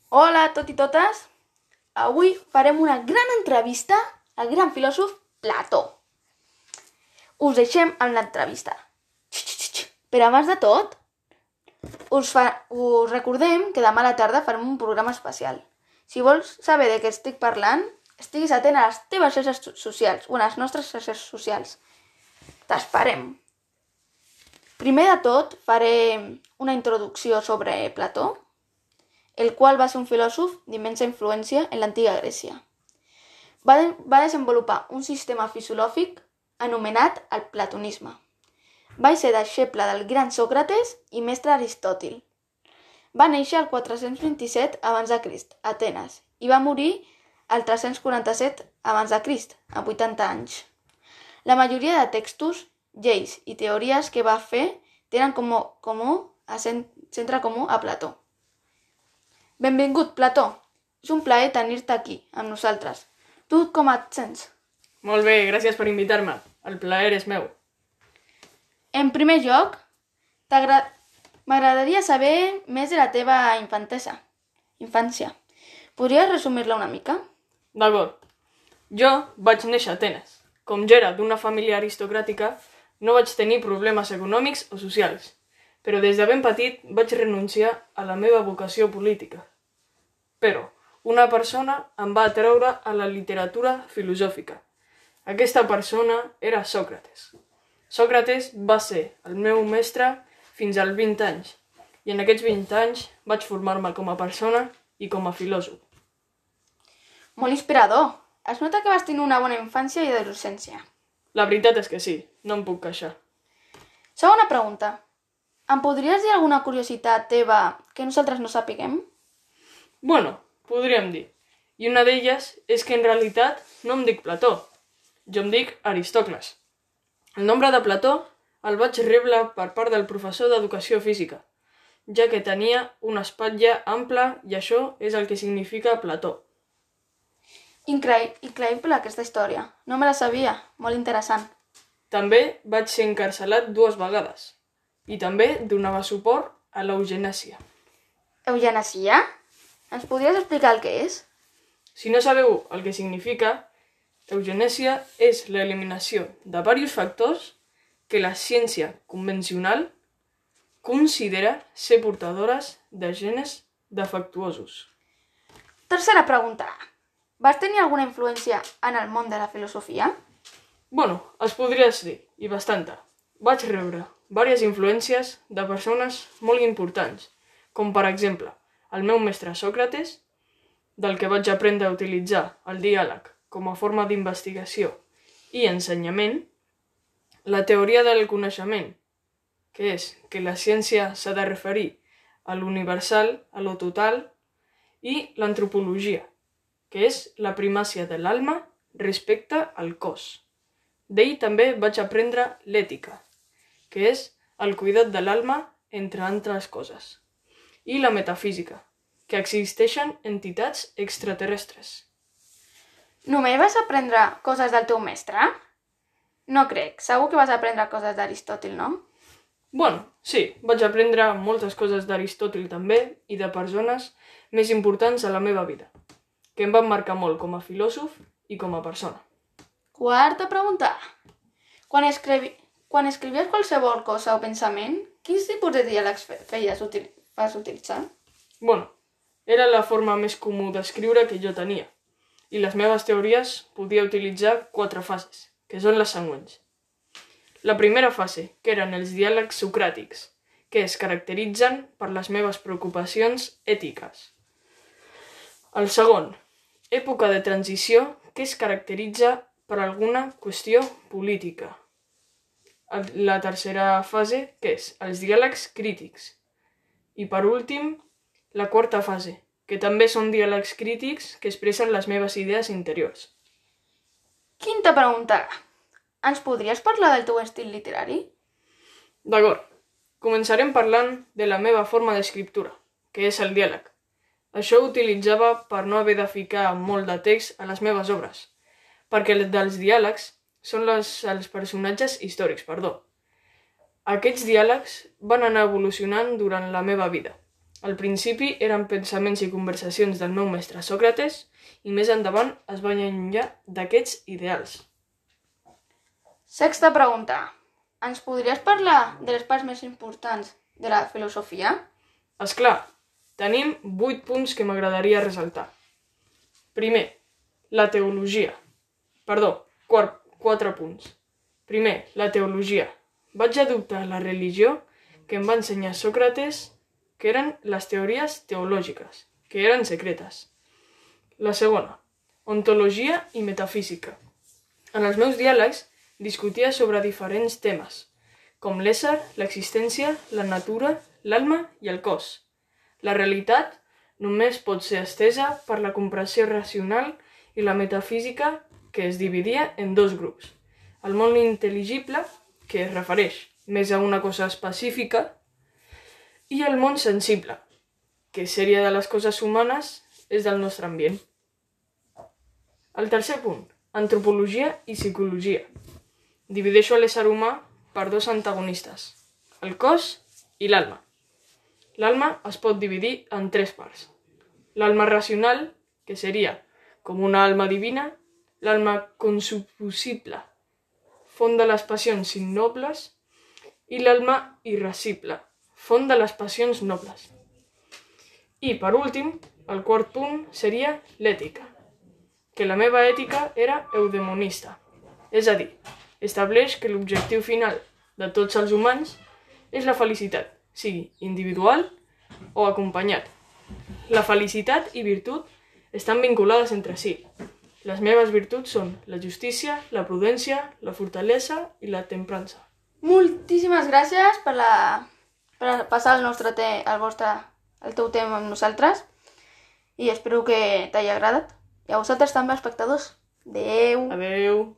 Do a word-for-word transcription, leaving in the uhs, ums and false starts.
Hola a tots i totes. Avui farem una gran entrevista al gran filòsof Plató. Us deixem amb l'entrevista. Però abans de tot, us, fa... us recordem que demà a la tarda farem un programa especial. Si vols saber de què estic parlant, estiguis atent a les teves xarxes socials o a les nostres xarxes socials. T'esperem. Primer de tot, faré una introducció sobre Plató, el qual va ser un filòsof d'immensa influència en l'antiga Grècia. Va, de, va desenvolupar un sistema filosòfic anomenat el platonisme. Va ser deixeble del gran Sòcrates i mestre Aristòtil. Va néixer el quatre-cents vint-i-set abans de Crist, a Atenes, i va morir el tres-cents quaranta-set abans de Crist, a vuitanta anys. La majoria de textos, lleis i teories que va fer tenen com a, comú, a centre comú a Plató. Benvingut, Plató. És un plaer tenir-te aquí, amb nosaltres. Tu com et sents? Molt bé, gràcies per invitar-me. El plaer és meu. En primer lloc, m'agradaria saber més de la teva infantesa. infància. Podries resumir-la una mica? D'acord. Jo vaig néixer a Atenes. Com jo era d'una família aristocràtica, no vaig tenir problemes econòmics o socials, però des de ben petit vaig renunciar a la meva vocació política. Però una persona em va atreure a la literatura filosòfica. Aquesta persona era Sòcrates. Sòcrates va ser el meu mestre fins als vint anys, i en aquests vint anys vaig formar-me com a persona i com a filòsof. Molt inspirador. Es nota que vas tenir una bona infància i adolescència. La veritat és que sí, no em puc queixar. Segona pregunta. Em podries dir alguna curiositat teva que nosaltres no sapiguem? Bueno, podríem dir. I una d'elles és que en realitat no em dic Plató. Jo em dic Aristòcles. El nombre de Plató el vaig rebre per part del professor d'educació física, ja que tenia una espatlla ampla i això és el que significa Plató. Increï- Increïble aquesta història. No me la sabia. Molt interessant. També vaig ser encarcelat dues vegades i també donava suport a l'eugenèsia. Eugenesia? Ens podries explicar el que és? Si no sabeu el que significa, eugenèsia és l'eliminació de diversos factors que la ciència convencional considera ser portadores de genes defectuosos. Tercera pregunta. Vas tenir alguna influència en el món de la filosofia? Bueno, es podria dir, i bastanta. Vaig rebre diverses influències de persones molt importants, com per exemple el meu mestre Sòcrates, del que vaig aprendre a utilitzar el diàleg com a forma d'investigació i ensenyament, la teoria del coneixement, que és que la ciència s'ha de referir a l'universal, a lo total, i l'antropologia, que és la primàcia de l'alma respecte al cos. D'ell també vaig aprendre l'ètica, que és el cuidat de l'alma entre altres coses, i la metafísica, que existeixen entitats extraterrestres. Només vas aprendre coses del teu mestre? No crec. Segur que vas aprendre coses d'Aristòtil, no? Bueno, sí, vaig aprendre moltes coses d'Aristòtil també i de persones més importants a la meva vida, que em van marcar molt com a filòsof i com a persona. Quarta pregunta. Quan, escrivi... Quan escrivies qualsevol cosa o pensament, quins tipus de diàlegs feies util... vas utilitzar? Bueno, era la forma més comú d'escriure que jo tenia, i les meves teories podia utilitzar quatre fases, que són les següents. La primera fase, que eren els diàlegs socràtics, que es caracteritzen per les meves preocupacions ètiques. El segon, època de transició, que es caracteritza per alguna qüestió política. La tercera fase, que és els diàlegs crítics. I per últim, la quarta fase, que també són diàlegs crítics que expressen les meves idees interiors. Quinta pregunta. Ens podries parlar del teu estil literari? D'acord. Començarem parlant de la meva forma d'escriptura, que és el diàleg. Això ho utilitzava per no haver de ficar molt de text a les meves obres, perquè dels diàlegs són les, els personatges històrics, perdó. Aquests diàlegs van anar evolucionant durant la meva vida, Al principi eren pensaments i conversacions del meu mestre Sòcrates i més endavant es va allunyar d'aquests ideals. Sexta pregunta. Ens podries parlar de les parts més importants de la filosofia? És clar, tenim vuit punts que m'agradaria ressaltar. Primer, la teologia. Perdó, quart, quatre punts. Primer, la teologia. Vaig adoptar la religió que em va ensenyar Sòcrates, que eren les teories teològiques, que eren secretes. La segona, ontologia i metafísica. En els meus diàlegs discutia sobre diferents temes, com l'ésser, l'existència, la natura, l'alma i el cos. La realitat només pot ser estesa per la comprensió racional i la metafísica, que es dividia en dos grups. El món intel·ligible, que es refereix més a una cosa específica, i el món sensible, que seria de les coses humanes, és del nostre ambient. El tercer punt, antropologia i psicologia. Divideixo l'ésser humà per dos antagonistes, el cos i l'alma. L'alma es pot dividir en tres parts. L'alma racional, que seria com una alma divina, l'alma consuposible, font de les passions innobles, i l'alma irascible, font de les passions nobles. I, per últim, el quart punt seria l'ètica, que la meva ètica era eudemonista, és a dir, estableix que l'objectiu final de tots els humans és la felicitat, sigui individual o acompanyat. La felicitat i virtut estan vinculades entre si. Les meves virtuts són la justícia, la prudència, la fortalesa i la temprança. Moltíssimes gràcies per, la... per passar el, nostre te... el, vostre... el teu tema amb nosaltres i espero que t'hagi agradat. I a vosaltres també, espectadors. Adéu. Adéu.